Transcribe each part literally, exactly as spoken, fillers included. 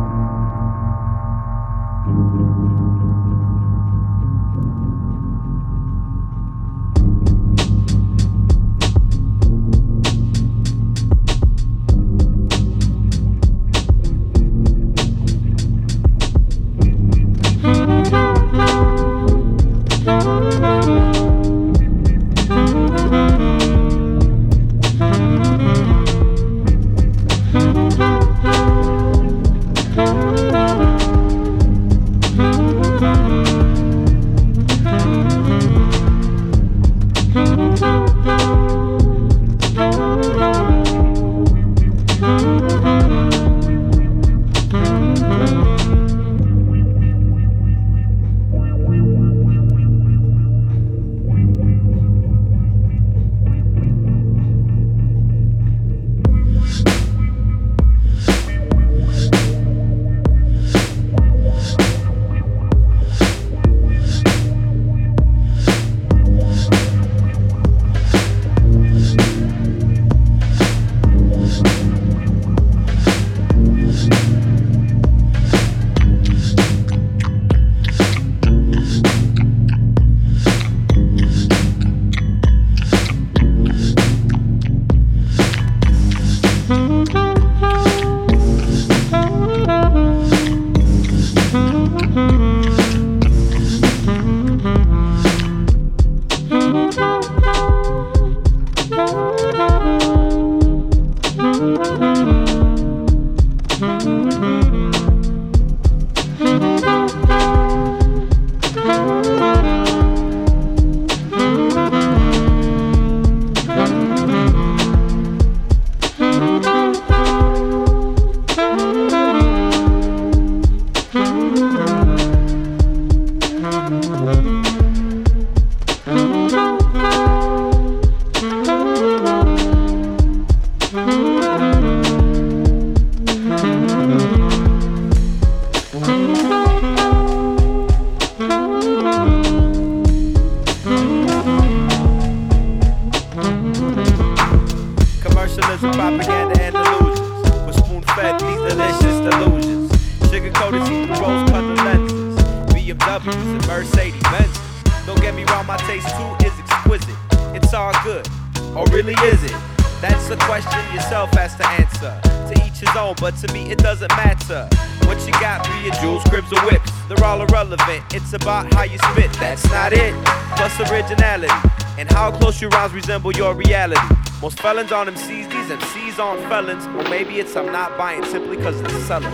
Resemble your reality. Most felons on M Cs, these M Cs on felons. Or maybe it's I'm not buying simply because it's selling.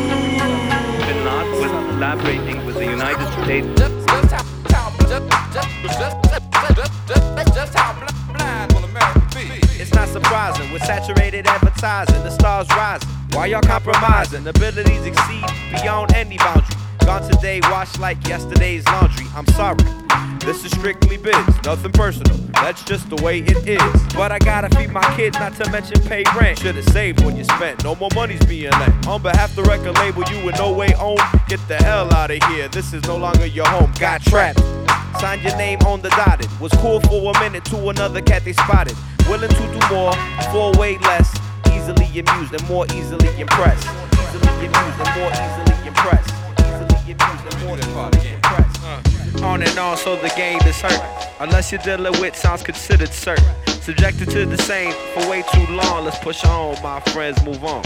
Bin Laden was collaborating with the United States. Just, just how, just, just, just, just how blind will America be? It's not surprising, with saturated advertising, the stars rising. Why y'all compromising? Abilities exceed beyond any boundary. Gone today, washed like yesterday's laundry. I'm sorry. This is strictly biz, nothing personal, that's just the way it is. But I gotta feed my kids, not to mention pay rent. Should've saved when you spent, no more money's being lent. On behalf of the record label you in no way own, get the hell out of here, this is no longer your home. Got trapped, signed your name on the dotted. Was cool for a minute to another cat they spotted. Willing to do more, for way less. Easily amused and more easily impressed. Easily amused and more easily impressed. Easily amused and more easily impressed. On and on, so the game is hurt. Unless you're dealing with sounds considered certain. Subjected to the same for way too long. Let's push on, my friends, move on.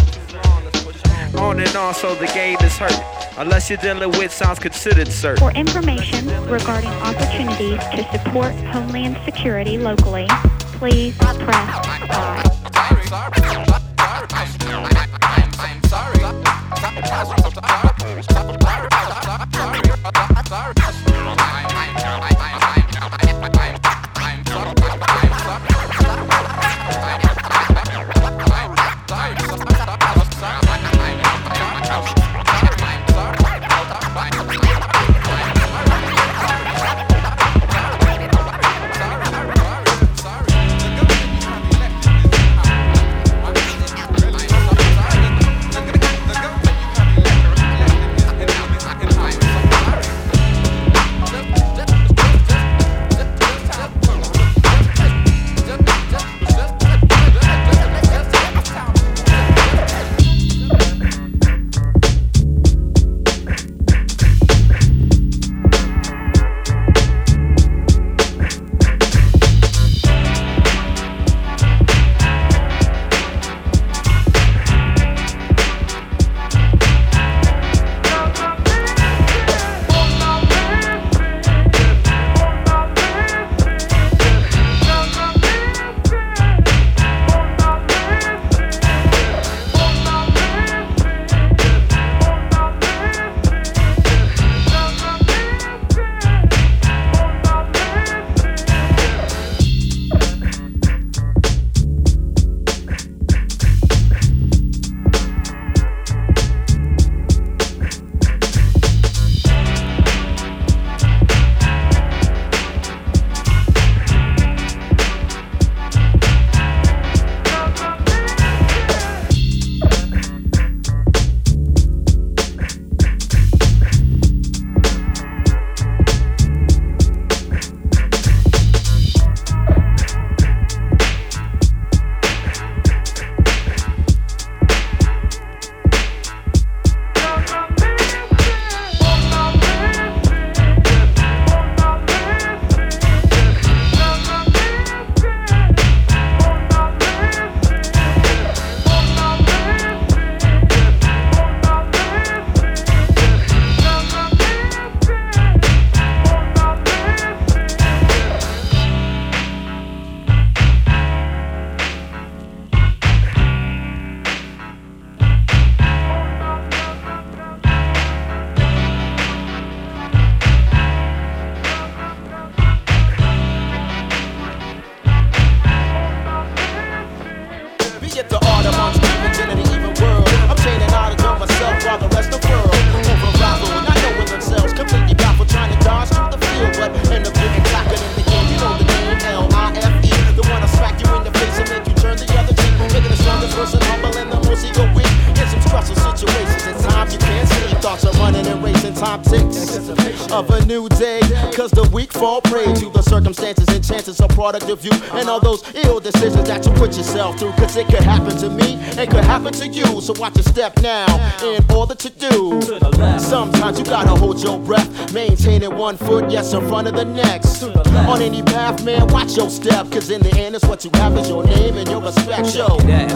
On and on, so the game is hurt. Unless you're dealing with sounds considered certain. For information regarding opportunities to support Homeland Security locally, please press five. time ticks of a new day. Cause the weak fall prey to the circumstances and chances are product of you and all those ill decisions that you put yourself through. Cause it could happen to me, it could happen to you. So watch your step now in order to do. Sometimes you gotta hold your breath, maintaining one foot, yes, in front of the next. On any path, man, watch your step. Cause in the end, it's what you have is your name and your respect. Yo,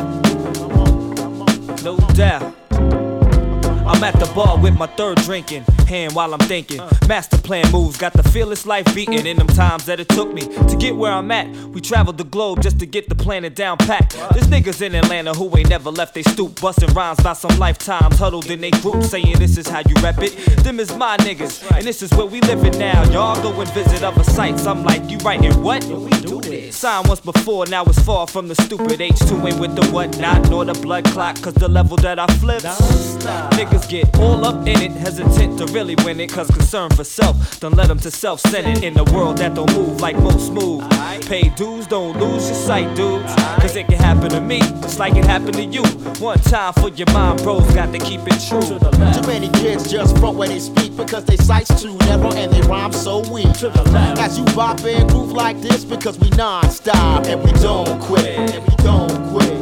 no doubt. I'm at the bar with my third drinking hand while I'm thinking. Master plan moves, got the fearless life beating. In them times that it took me to get where I'm at, we traveled the globe just to get the planet down packed. There's niggas in Atlanta who ain't never left they stoop, busting rhymes by some lifetimes, huddled in they group, saying this is how you rep it. Them is my niggas, and this is where we living now. Y'all go and visit other sites. I'm like, you writing what? Signed once before, now it's far from the stupid. H two ain't with the whatnot, nor the blood clot, cause the level that I flip, niggas get all up in it, hesitant to really win it, cause concern for self don't let them to self-centered in the world that don't move like most move. Pay dues, don't lose your sight, dudes, cause it can happen to me just like it happened to you. One time for your mind, bros, got to keep it true. Too many kids just front where they speak because they sights too narrow and they rhyme so weak. As you bop and groove like this, because we non-stop and we don't quit, and we don't quit.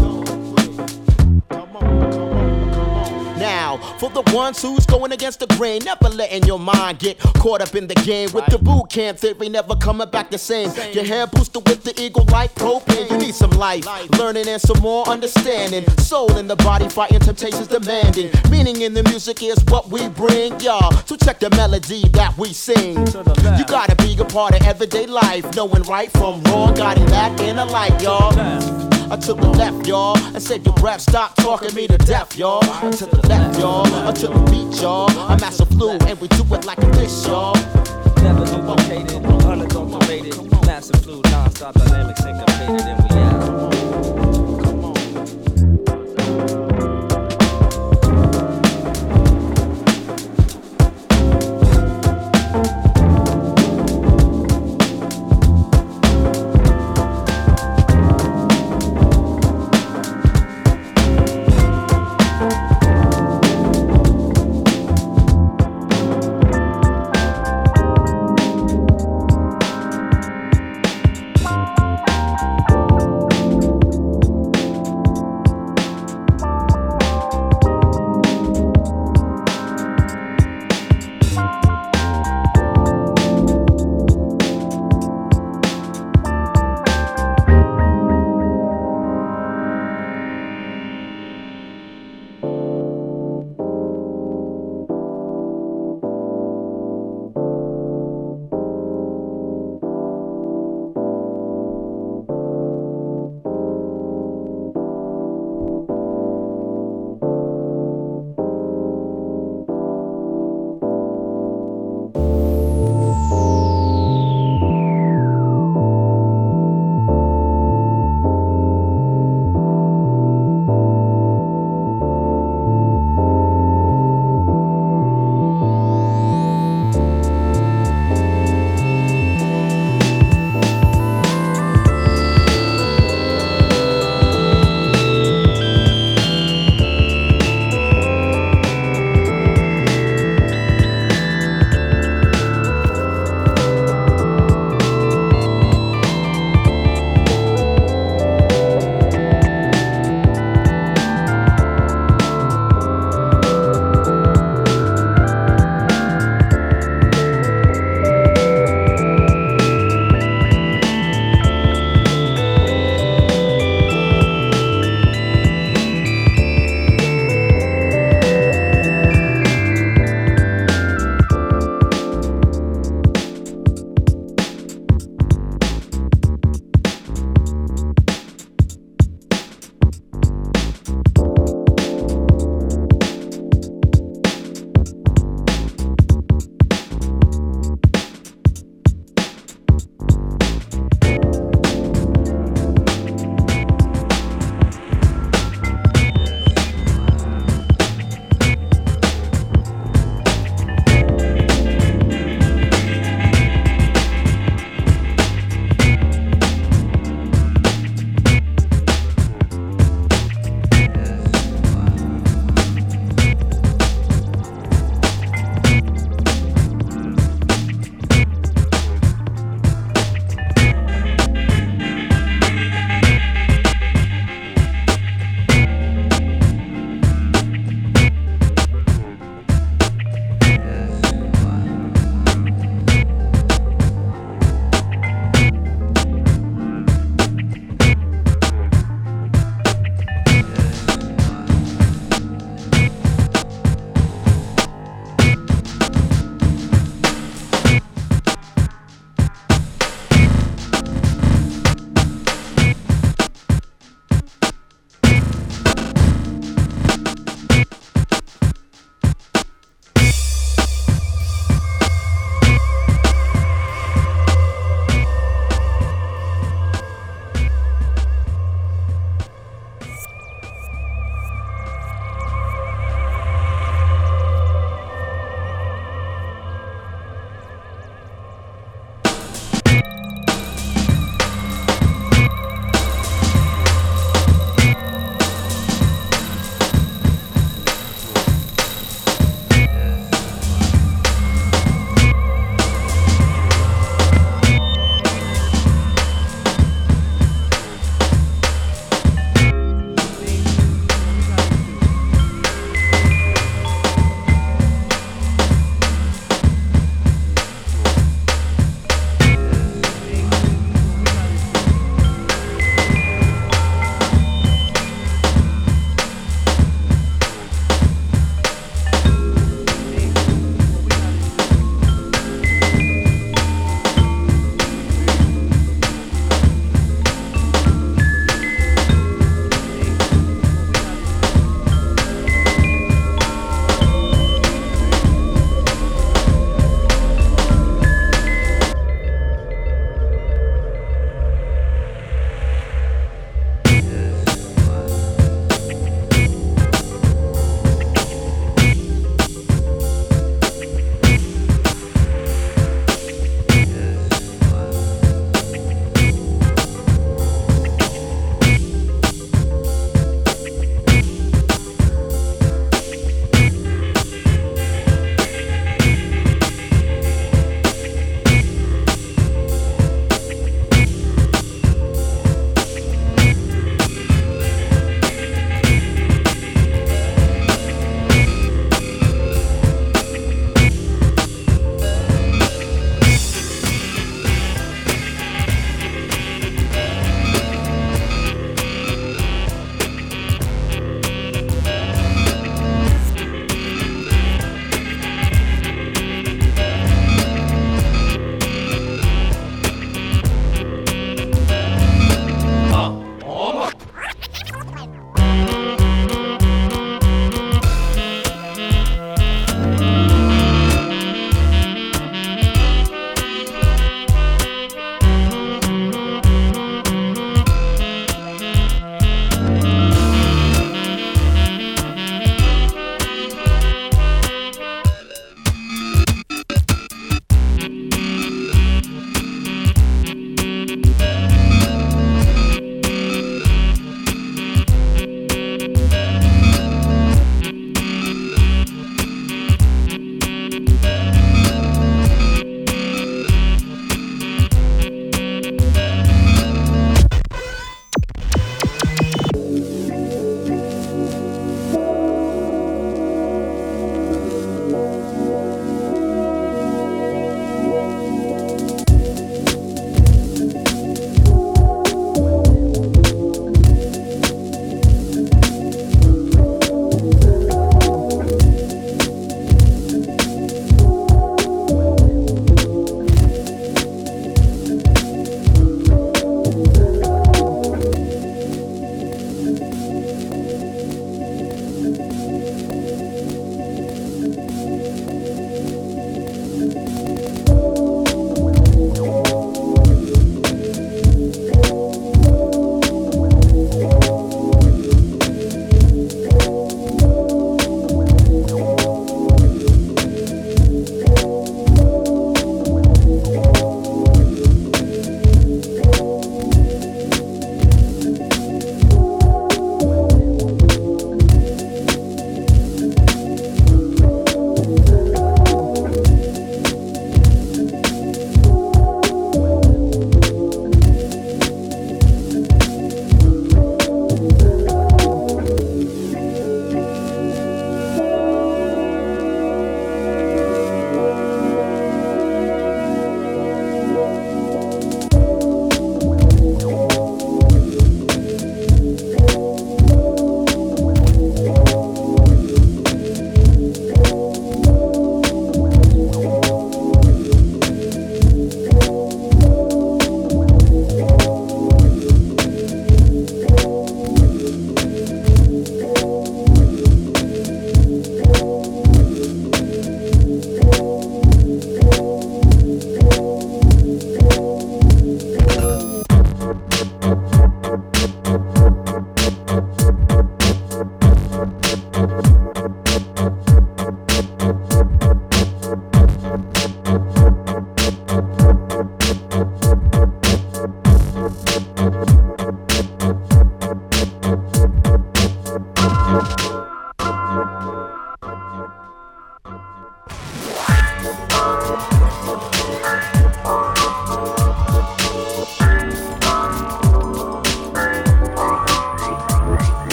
Now, for the ones who's going against the grain, never letting your mind get caught up in the game with the boot camp theory, never coming back the same. Your hair boosted with the eagle like propane. You need some life, learning and some more understanding. Soul in the body, fighting temptations demanding. Meaning in the music is what we bring, y'all. So check the melody that we sing. You gotta be a part of everyday life, knowing right from wrong, guiding that inner light, y'all. Uh, to the left, y'all, and save your breath. Stop talking me to death, y'all. Uh, to the left, y'all, uh, to the beat, y'all. I'm Master Flu, and we do it like this, y'all. Never duplicated, unadulterated, Master Flu, non-stop dynamic syncopated, and we out.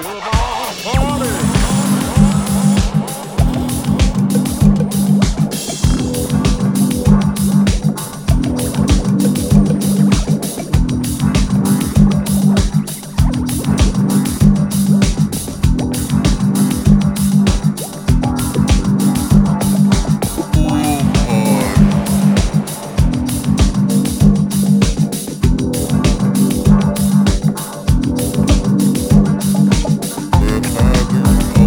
We're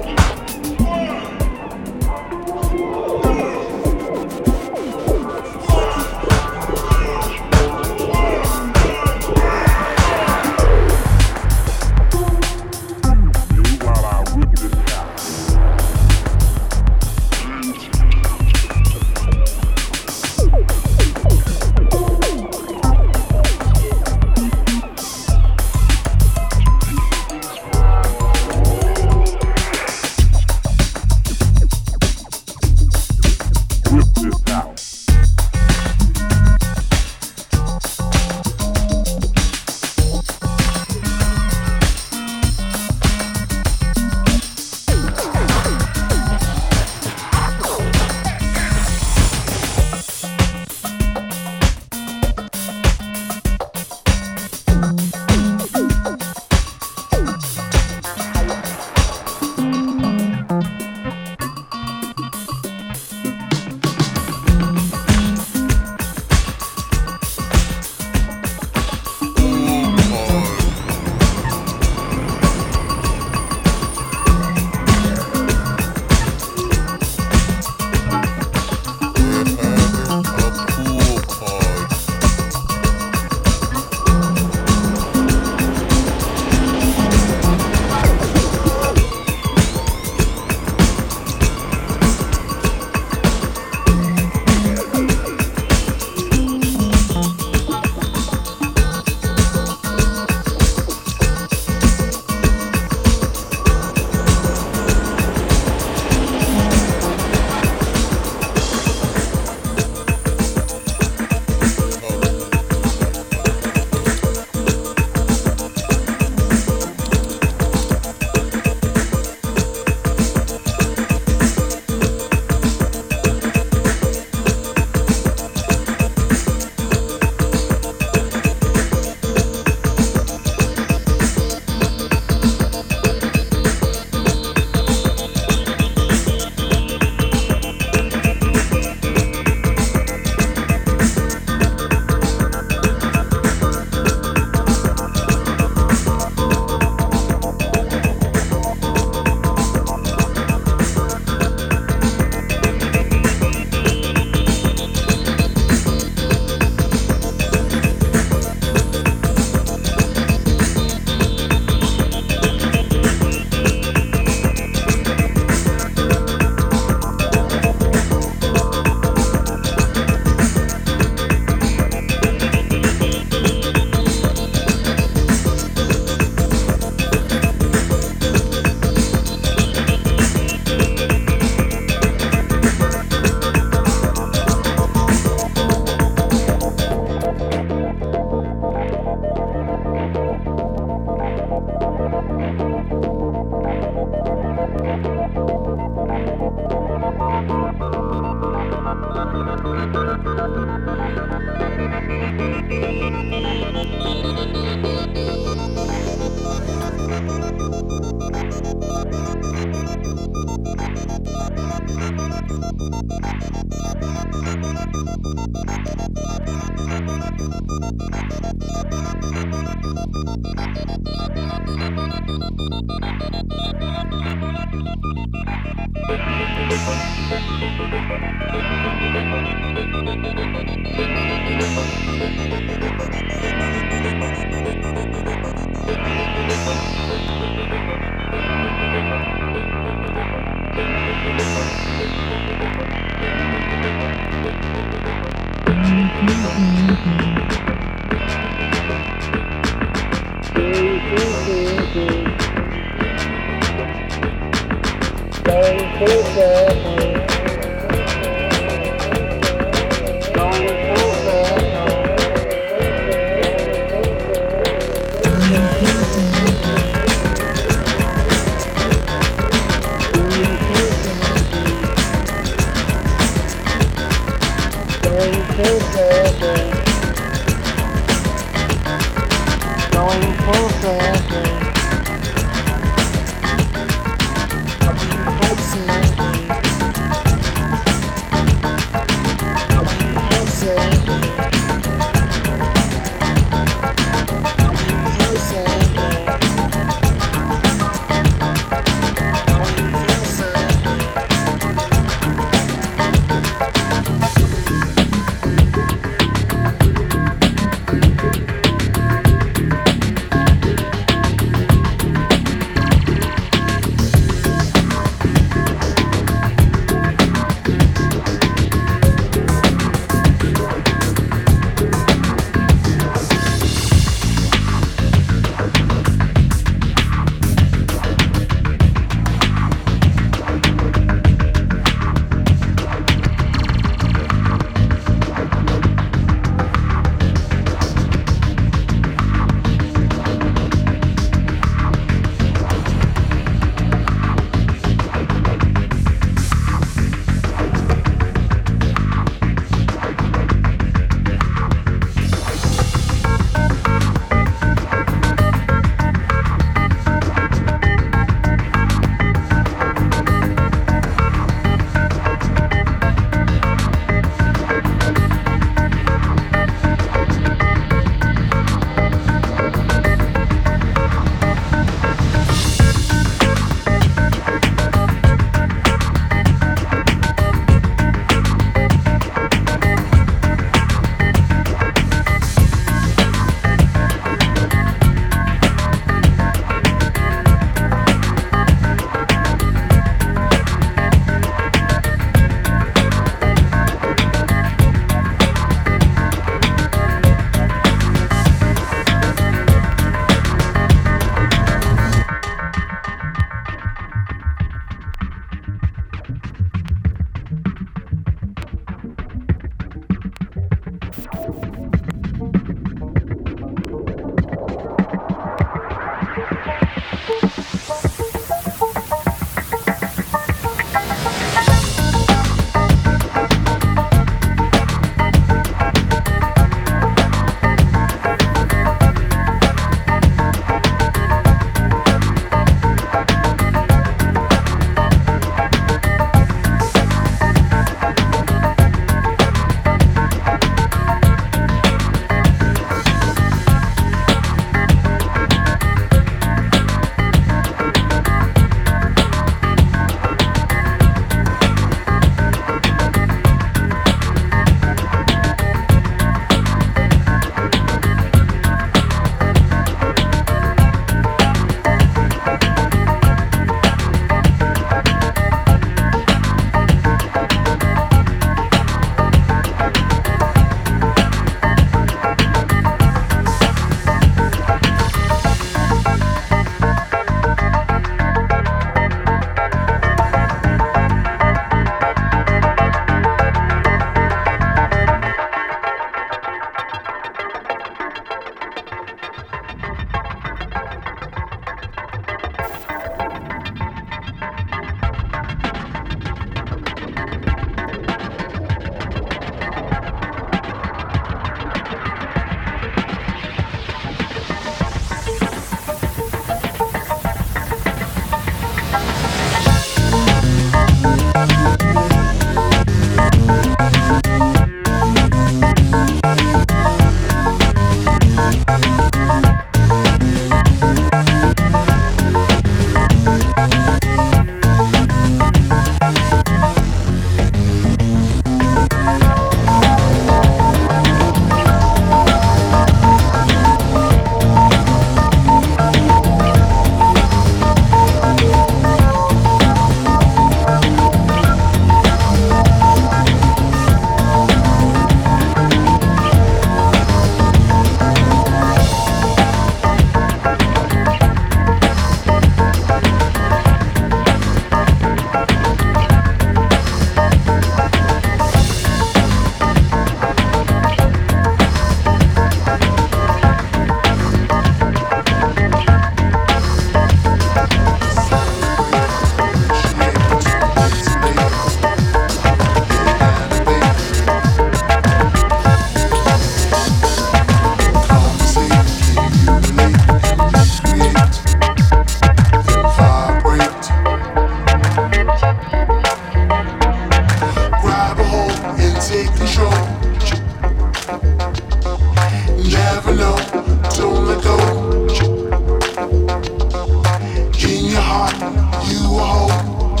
your heart, you will hold.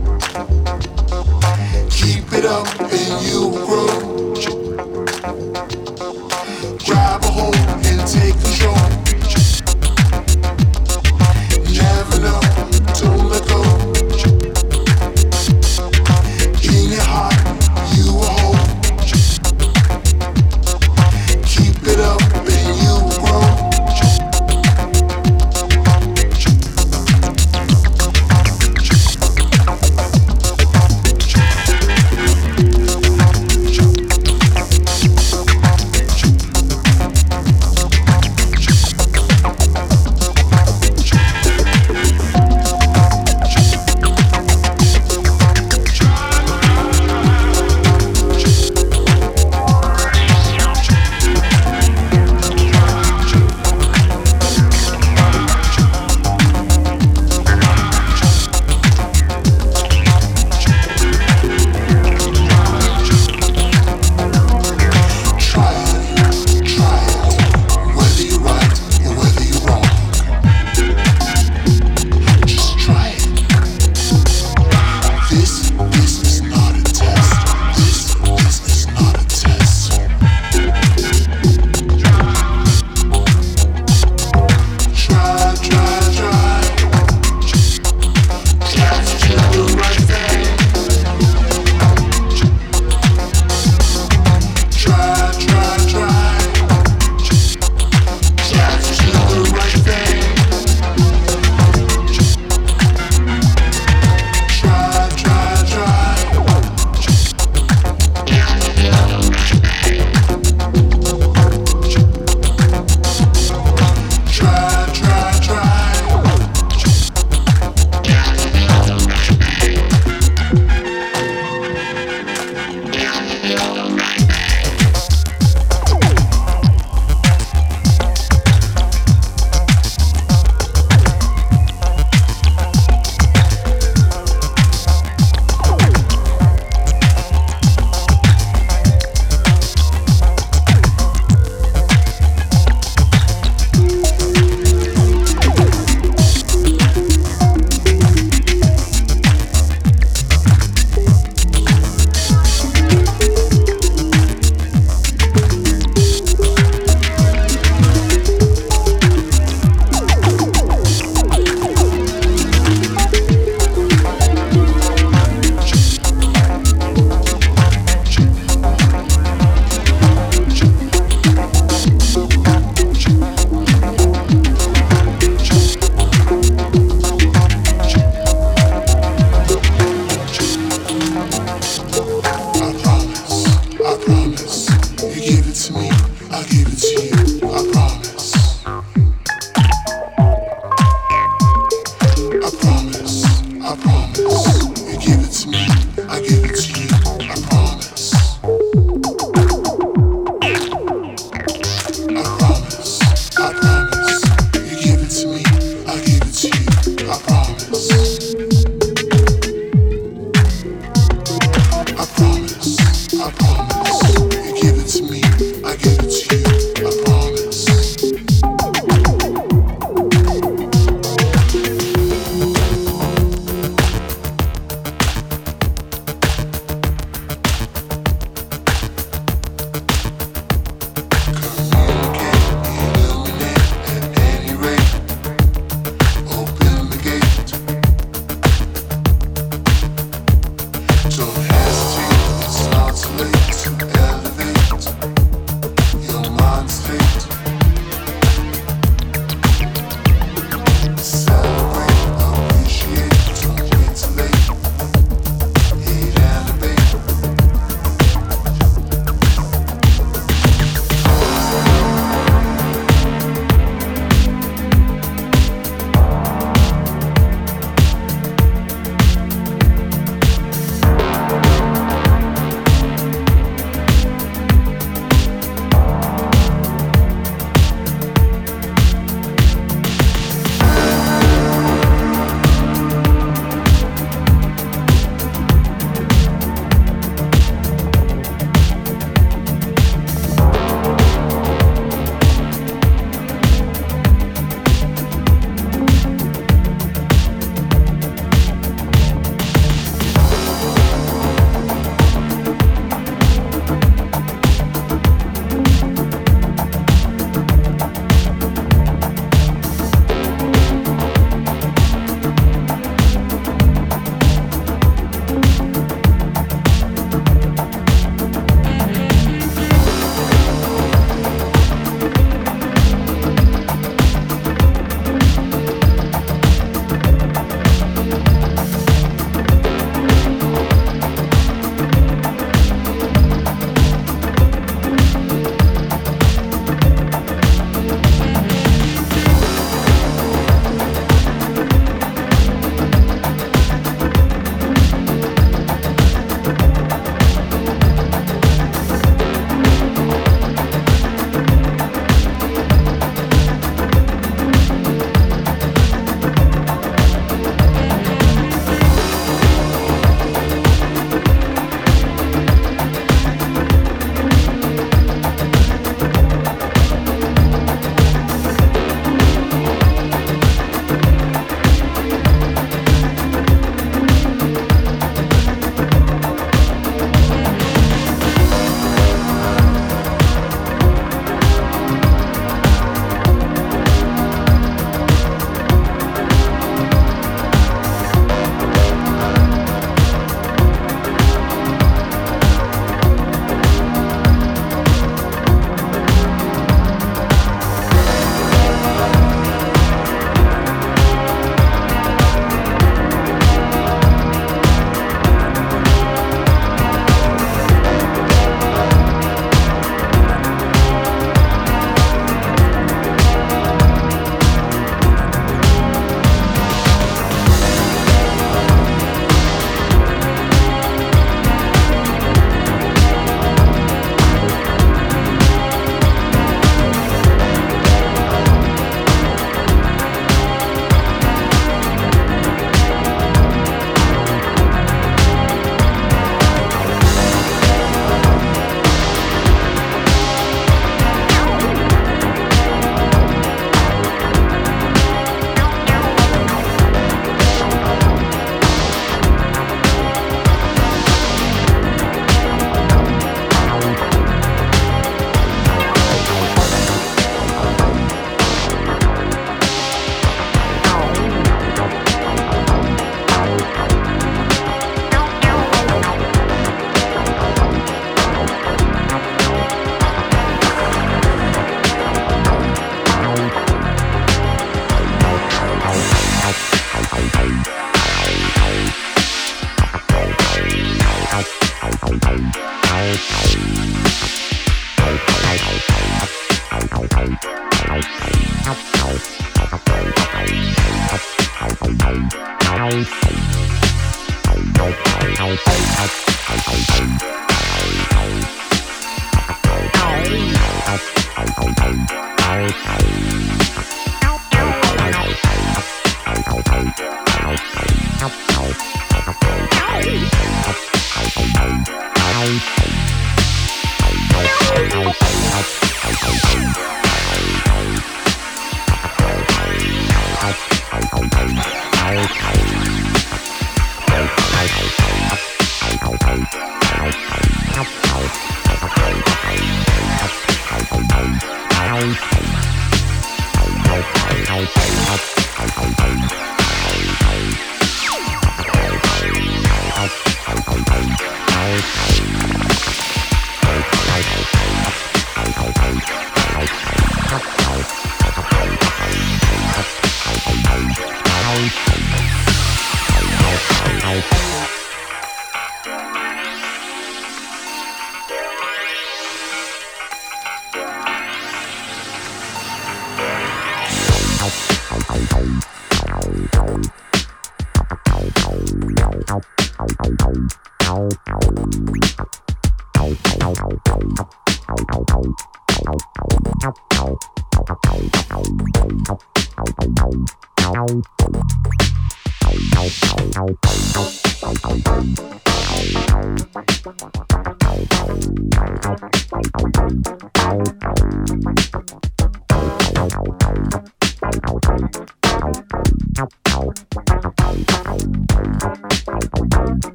Keep it up and you will grow. Grab a hold and take control. Never know, don't let go. In your heart, you will hold. Keep it up and you will grow.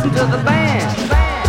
listen to the band.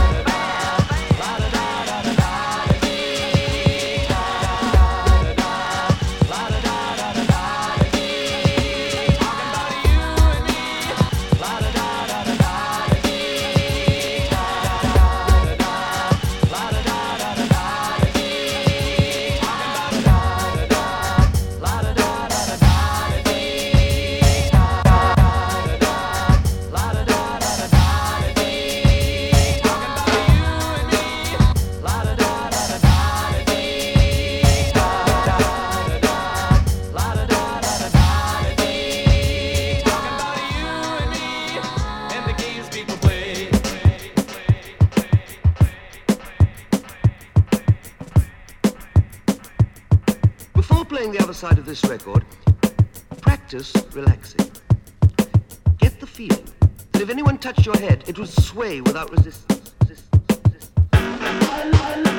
Side of this record, practice relaxing. Get the feeling that if anyone touched your head, it would sway without resistance. resistance, resistance.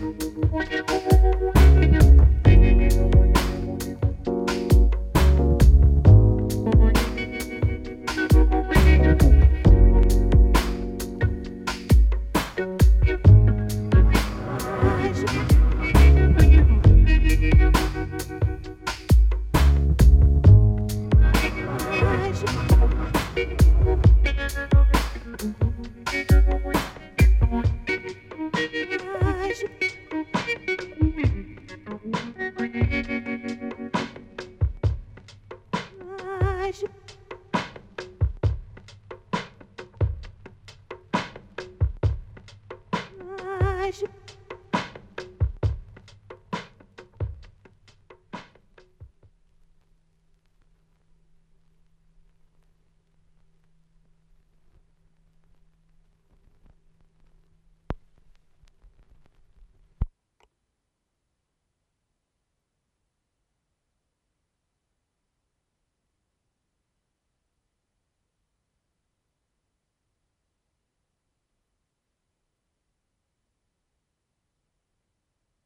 Rise.